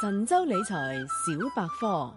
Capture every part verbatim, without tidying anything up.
神州理財小百科。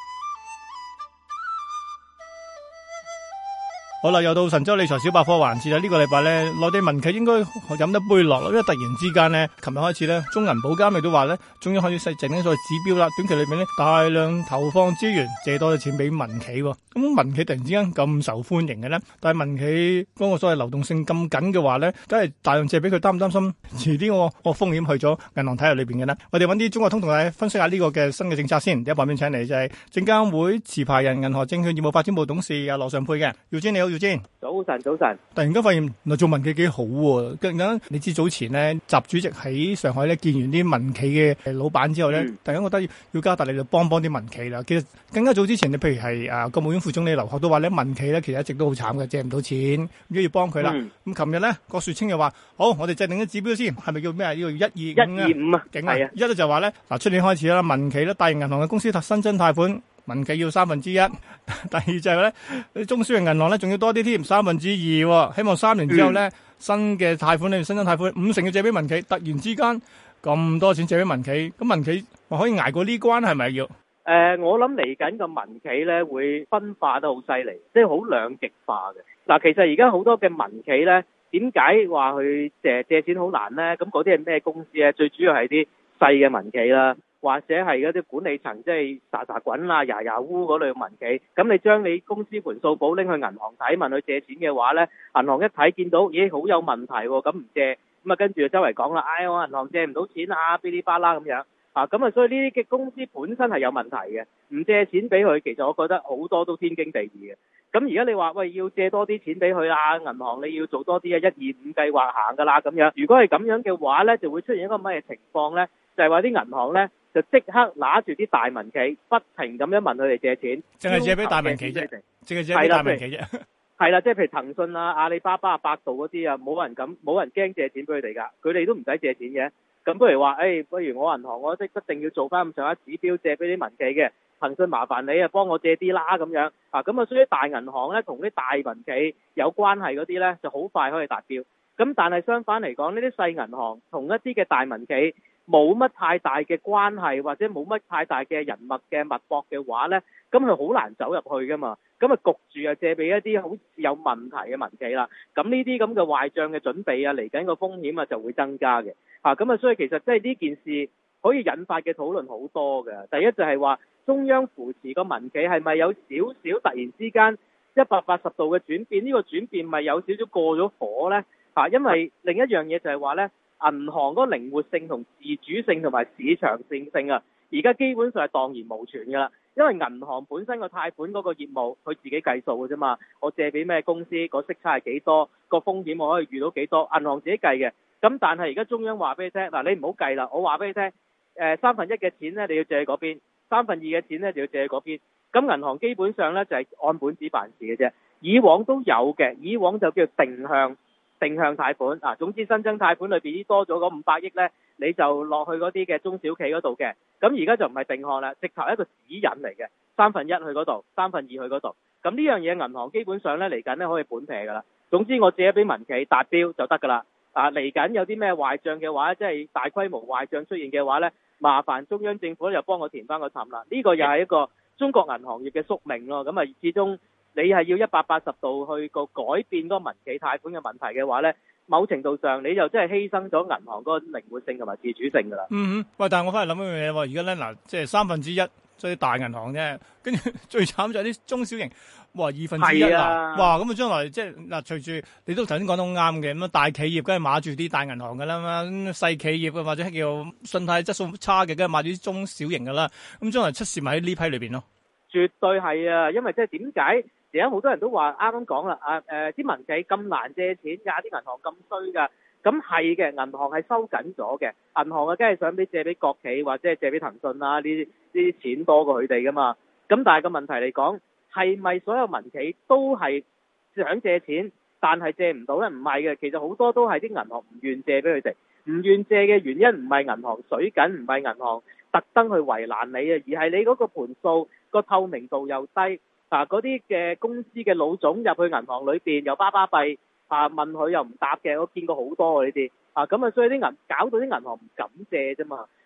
好啦，又到神州理財小百科環節啦。呢、這個禮拜咧，內地民企應該飲得杯落啦，因為突然之間咧，琴日開始咧，中銀保監亦都話咧，終於開始制定所謂指標啦。短期裏面咧，大量投放資源，借多啲錢俾民企。咁民企突然之間咁受歡迎嘅咧，但係民企嗰個所謂流動性咁緊嘅話咧，梗係大量借俾佢，擔唔擔心遲啲我我風險去咗銀行體系裏邊嘅咧？我哋揾啲中國通同大家分析下呢個嘅新嘅政策先。第一旁邊請嚟就係證監會持牌人、銀河證券業務發展部董事阿羅尚沛嘅。耀堅你好，耀堅。 早晨，早晨。 突然間發現原來做民企幾好喎！突然間你知早前咧，習主席喺上海咧見完啲民企嘅老闆之後咧，嗯、突然間覺得要要加大力度幫幫啲民企啦。其實更加早之前，你譬如係啊國務院副總理劉鶴都話咧，民企咧其實一直都好慘嘅，借唔到錢，如果要幫佢啦。咁琴日咧，郭樹清又話：好，我哋制定啲指標先，係咪叫咩啊？要一二五啊？ 一二五啊， 勁啊！一咧就話咧，嗱出年開始啦，民企咧，大型銀行嘅公司新增貸款。民企要三分之一，第二就係咧，中小型銀行咧仲要多啲添，三分之二，希望三年之後咧，嗯、新嘅貸款咧，新增貸款五成要借俾民企，突然之間咁多錢借俾民企，咁民企話可以捱過呢關係咪要？誒、 呃，我諗嚟緊個民企咧會分化得好犀利，即係好兩極化嘅。嗱，其實而家好多嘅民企咧，點解話去借借錢好難咧？咁嗰啲係咩公司咧？最主要係啲細嘅民企啦。或者係嗰啲管理層，即係沙沙滾啊、牙牙烏嗰類民企，咁你將你公司盤數簿拎去銀行睇，問佢借錢嘅話咧，銀行一睇見到，咦，好有問題喎，咁唔借，咁啊跟住就周圍講啦，唉，我銀行借唔到錢啊，噼哩啪啦咁樣，啊，咁啊所以呢啲嘅公司本身係有問題嘅，唔借錢俾佢，其實我覺得好多都天經地義嘅。咁而家你話喂，要借多啲錢俾佢啊，銀行你要做多啲啊，一二五計劃行㗎啦咁樣。如果係咁樣嘅話咧，就會出現一個乜嘢情況咧？就係話啲銀行咧就即刻拿住啲大民企，不停咁樣問佢哋借錢， 淨係借俾大民企啫，淨係借俾大民企啫。 係啦，即係譬如騰訊啊、阿里巴巴啊、百度嗰啲啊，冇人敢，冇人驚借錢俾佢哋㗎，佢哋都唔使借錢嘅。咁不如話，誒、哎，不如我銀行我即一定要做翻咁上下指標借俾啲民企嘅。騰訊麻煩你啊，幫我借啲啦咁樣啊，咁啊，所以大銀行咧同啲大民企有關係嗰啲咧，就好快可以達標。咁但係相反嚟講，呢啲細銀行同一啲嘅大民企冇乜太大嘅關係，或者冇乜太大嘅人脈嘅脈搏嘅話咧，咁佢好難走入去噶嘛。咁啊焗住啊借俾一啲好有問題嘅民企啦。咁呢啲咁嘅壞帳嘅準備啊，嚟緊個風險啊就會增加嘅。啊，咁啊，所以其實即係呢件事可以引發嘅討論好多嘅。第一就係話，中央扶持個民企係咪有少少突然之間一百八十度嘅轉變？呢個轉變咪有少少過咗火呢？嚇，因為另一樣嘢就係話呢，銀行嗰個靈活性同自主性同埋市場性性啊，而家基本上係蕩然無存㗎啦。因為銀行本身個貸款嗰個業務，佢自己計數嘅啫嘛。我借俾咩公司，個息差係幾多，個風險我可以遇到幾多，銀行自己計嘅。咁但係而家中央話俾你聽，嗱，你唔好計啦，我話俾你聽，誒三分一嘅錢咧你要借去嗰邊，三分二嘅錢咧就要借去嗰邊。咁銀行基本上咧就係按本子辦事嘅啫。以往都有嘅，以往就叫定向定向貸款啊。總之新增貸款裏邊多咗嗰五百億咧，你就落去嗰啲嘅中小企嗰度嘅。咁而家就唔係定向啦，直頭一個指引嚟嘅，三分一去嗰度，三分二去嗰度。咁呢樣嘢銀行基本上咧嚟緊咧可以本撇㗎啦。總之我借俾民企達標就得㗎啦。啊，嚟緊有啲咩壞帳嘅話，即係大規模壞帳出現嘅話咧，麻煩中央政府又幫我填翻個氹啦。呢個又係一個中國銀行業嘅宿命咯。咁啊，始終你係要一百八十度去個改變嗰個民企貸款嘅問題嘅話咧，某程度上你就真係犧牲咗銀行嗰個靈活性同埋自主性㗎啦。 嗯哼，喂，但係我翻嚟諗一樣嘢喎，而家咧嗱，即係三分之一。所以大銀行啫，跟住最慘就係啲中小型，哇二分之一啊！哇咁啊，將來即係嗱，隨住你都頭先講得好啱嘅，咁啊大企業梗係碼住啲大銀行㗎啦嘛，細企業嘅或者叫信貸質素差嘅，梗係碼住啲中小型㗎啦。咁將來出事咪喺呢批裏邊咯？絕對係啊，因為即係點解而家好多人都話啱啱講啦，啊誒啲民企咁難借錢㗎，啲銀行咁衰㗎。咁係嘅，銀行係收緊咗嘅，銀行啊，梗係想俾借俾國企或者係借俾騰訊啊，呢啲呢啲錢多過佢哋噶嘛。咁但係個問題嚟講，係咪所有民企都係想借錢，但係借唔到咧？唔係嘅，其實好多都係啲銀行唔願借俾佢哋，唔願借嘅原因唔係銀行水緊，唔係銀行特登去為難你啊，而係你嗰個盤數個透明度又低啊，嗰啲嘅公司嘅老總入去銀行裏邊又巴巴閉。啊！問佢又唔答嘅，我見過好多啊呢啲啊，咁啊，所以啲銀搞到啲銀行唔敢借啫嘛。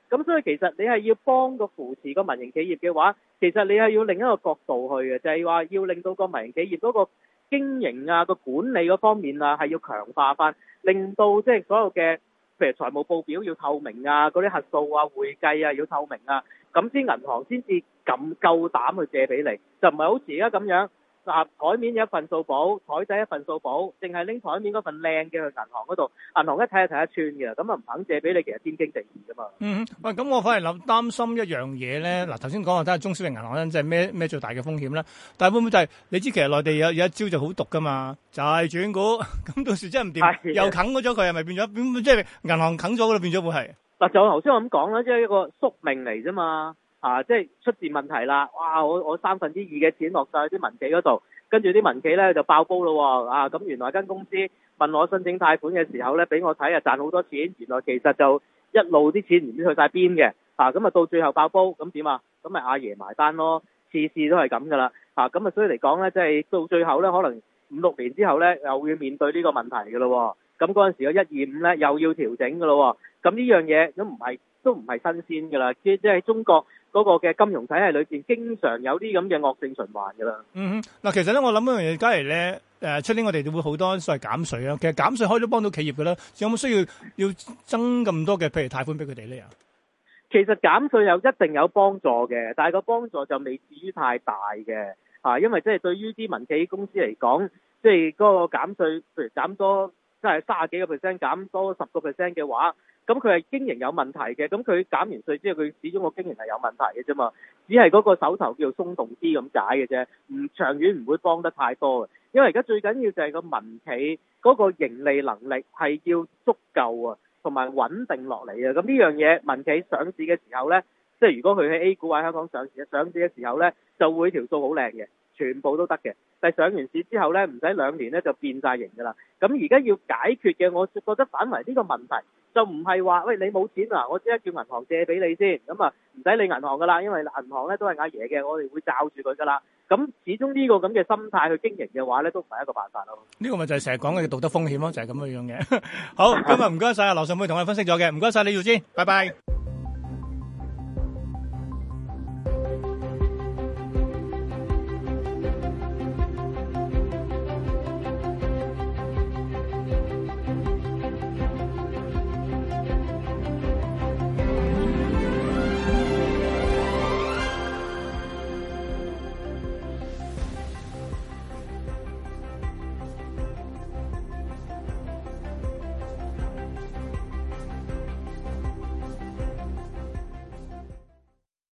咁所以其實你係要幫個扶持個民營企業嘅話，其實你係要另一個角度去嘅，就係話要令到個民營企業嗰個經營啊、個管理嗰方面啊係要強化翻，令到即係所有嘅譬如財務報表要透明啊，嗰啲核數啊、會計啊要透明啊，咁先銀行先至咁夠膽去借俾你，就唔係好似而家咁樣。嗱，台面有一份數簿，台底一份數簿，淨係拎台面嗰份靚嘅去銀行嗰度，銀行一睇就睇得穿嘅，咁啊唔肯借俾你，其實天經地義噶嘛。 嗯，喂，咁我反而諗擔心一樣嘢咧。嗱，頭先講話睇下中小型銀行咧，即係咩咩最大嘅風險啦。但係會唔會就係、是、你知其實內地有有一招就好毒噶嘛，就係、是、轉股，咁到時真係唔掂，又啃咗佢，係咪變咗？變即係銀行啃咗嗰度變咗會係？嗱，就頭先我咁講啦，即係一個宿命嚟啫嘛。啊，即係出現問題啦！哇，我我三分之二嘅錢落晒去啲民企嗰度，跟住啲民企咧就爆煲咯喎！啊，咁原來間公司問我申請貸款嘅時候咧，俾我睇啊賺好多錢，原來其實就一路啲錢唔知去晒邊嘅，啊咁啊到最後爆煲，咁點啊？咁咪阿爺埋單咯，次次都係咁噶啦，啊咁啊所以嚟講咧，即係到最後咧，可能五六年之後咧，又要面對呢個問題噶咯喎，咁嗰陣時個一二五咧又要調整噶咯喎，咁呢樣嘢都唔係都唔係新鮮噶啦，即係喺中國嗰個嘅金融體系裏邊，經常有啲咁嘅惡性循環㗎啦。嗯哼，嗱，其實咧，我諗一樣嘢，假如咧，誒出年我哋會好多所謂減稅啊。其實減稅可以都幫到企業㗎啦。有冇需要要增咁多嘅，譬如貸款俾佢哋咧？ 其實減稅有一定有幫助嘅，但係個幫助就未至於太大嘅嚇，因為即係對於啲民企公司嚟講，即係嗰個減稅，譬如減多即係三十幾個 percent，減多十個 percent 嘅話。咁佢係經營有問題嘅，咁佢減完稅之後，佢始終個經營係有問題嘅啫嘛，只係嗰個手頭叫做鬆動啲咁解嘅啫，唔長遠唔會幫得太多嘅，因為而家最緊要就係個民企嗰個盈利能力係要足夠啊，同埋穩定落嚟啊，咁呢樣嘢民企上市嘅時候呢，即係如果佢喺 A 股或者香港上市，上市嘅時候呢，就會條數好靚嘅，全部都得嘅。但係上完市之後咧，唔使兩年咧就變晒型㗎啦。咁而家要解決嘅，我覺得反為呢個問題就唔係話，喂，你冇錢啊，我即刻叫銀行借俾你先，咁啊唔使理銀行㗎啦，因為銀行咧都係阿爺嘅，我哋會罩住佢㗎啦。咁始終呢個咁嘅心態去經營嘅話咧，都唔係一個辦法咯。呢個咪就係成日講嘅道德風險咯，就係咁樣樣嘅。好，今日唔該晒啊，羅尚沛同我哋分析咗嘅，唔該晒李耀堅，拜拜。